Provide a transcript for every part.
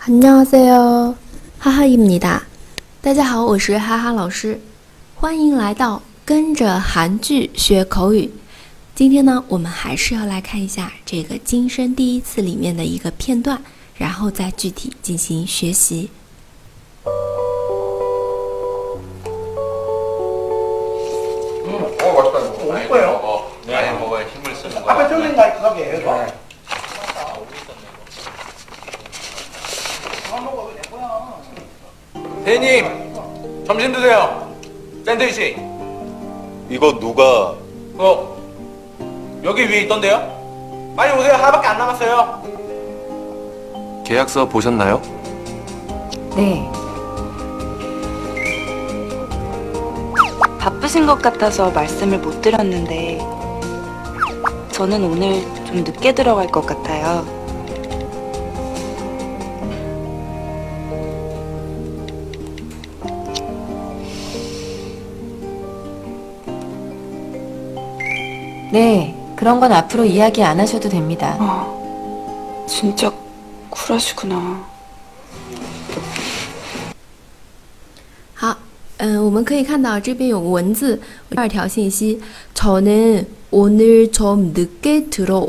안녕하세요， 哈哈입니다。大家好，我是哈哈老师，欢迎来到跟着韩剧学口语。今天呢，我们还是要来看一下这个今生第一次里面的一个片段，然后再具体进行学习。 맛있다 이거. 많이 먹어. 많이 먹어야 힘을 쓰는 거야. 앞에 쫄린 거 가게 해줘. 대님, 점심 드세요. 샌드위치. 이거 누가? 여기 위에 있던데요? 빨리 오세요. 하나밖에 안 남았어요. 계약서 보셨나요? 네. 바쁘신 것 같아서 말씀을 못 드렸는데 저는 오늘 좀 늦게 들어갈 것 같아요. 네, 그런 건 앞으로 이야기 안 하셔도 됩니다. 진짜 쿨하시구나. 好，我们可以看到这边有文字，第二条信息，저는 오늘 좀 늦게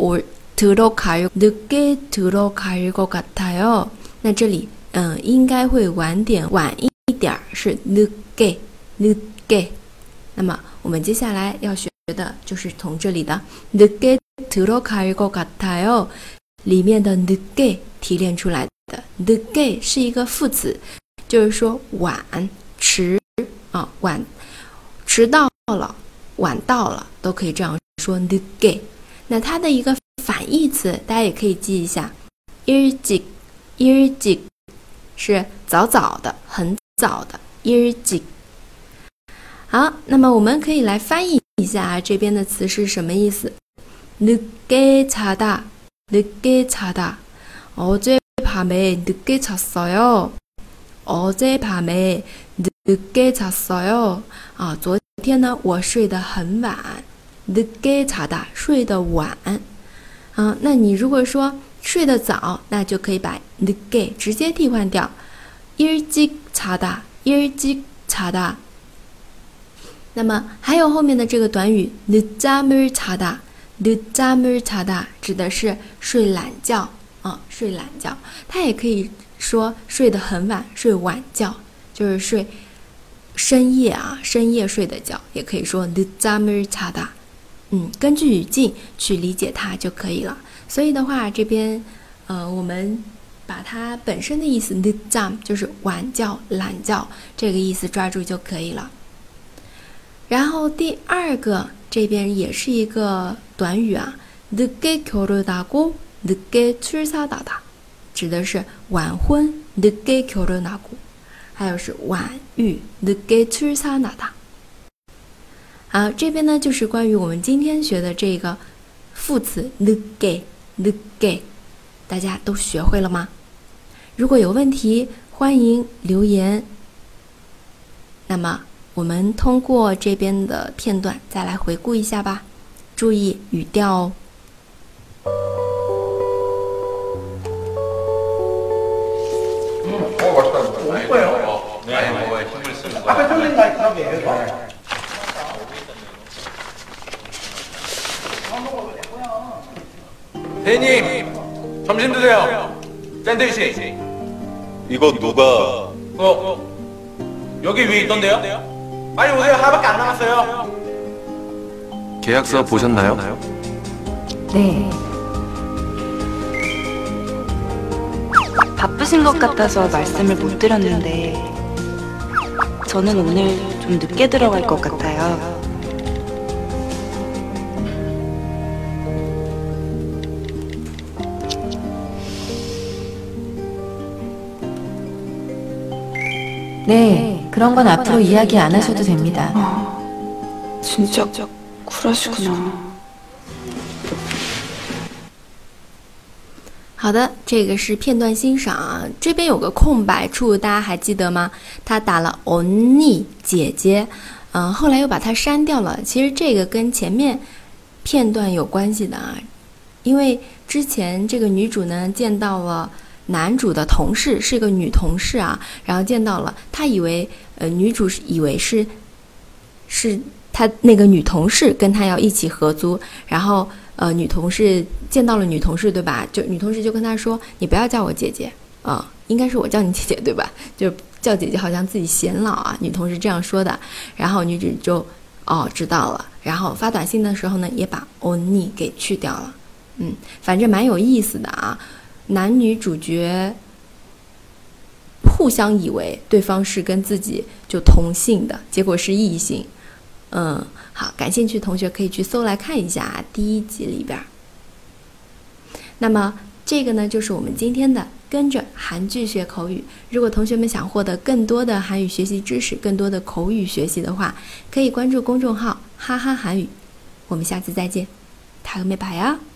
들어갈 것 같아요。那这里，应该会晚一点，是늦게。那么我们接下来要学的就是从这里的늦게 들어갈 것 같아요里面的늦게提炼出来的。늦게是一个副词，就是说晚、迟啊，迟到了、晚到了都可以这样说늦게。那它的一个反义词，大家也可以记一下，일찍是早早的、很早的일찍。好，那么我们可以来翻译一下这边的词是什么意思。늦게 자다 어젯밤에 늦게 잤어요. 어젯밤에 늦게 잤어요. 昨天呢我睡得很晚。늦게 자다睡得晚。那你如果说睡得早，那就可以把늦게直接替换掉。일찍 자다。那么还有后面的这个短语늦잠을 자다指的是睡懒觉睡懒觉。它也可以说睡得很晚，睡晚觉，就是睡深夜睡的觉，也可以说늦잠을 자다。根据语境去理解它就可以了。所以的话，这边我们把它本身的意思늦잠就是晚觉、懒觉这个意思抓住就可以了。然后第二个这边也是一个短语늦게 결혼하고 늦게 출산하다指的是晚婚늦게 결혼하고，还有是晚育늦게 출산하다。好，这边呢就是关于我们今天学的这个副词늦게，大家都学会了吗？如果有问题，欢迎留言。那么我们通过这边的片段再来回顾一下吧，注意语调哦。 맛있다 이거. 많이 먹어. 많이 먹어야 힘을 쓰는 거야. 앞에 쫄린 거 가게 해줘. 대님, 점심 드세요. 샌드위치. 이거 누가? 여기 위에 있던데요? 빨리 오세요. 하나밖에 안 남았어요. 계약서 보셨나요? 네. 바쁘신 것 같아서 말씀을 못 드렸는데 저는 오늘 좀 늦게 들어갈 것 같아요. 네, 그런 건 앞으로 이야기 안 하셔도 됩니다. 진짜 쿨하시구나. 好的，这个是片段欣赏这边有个空白处，大家还记得吗？他打了언니姐姐，后来又把它删掉了。其实这个跟前面片段有关系的因为之前这个女主呢见到了男主的同事是个女同事啊，然后见到了，他以为女主以为是他那个女同事跟他要一起合租，然后女同事见到了女同事对吧？就女同事就跟他说：“你不要叫我姐姐啊，应该是我叫你姐姐对吧？就叫姐姐好像自己显老啊。”女同事这样说的，然后女主就知道了，然后发短信的时候呢，也把언니给去掉了。反正蛮有意思的啊。男女主角互相以为对方是跟自己就同性的，结果是异性。好，感兴趣的同学可以去搜来看一下第1集里边。那么这个呢，就是我们今天的跟着韩剧学口语。如果同学们想获得更多的韩语学习知识，更多的口语学习的话，可以关注公众号哈哈韩语。我们下次再见，다음에 봐요。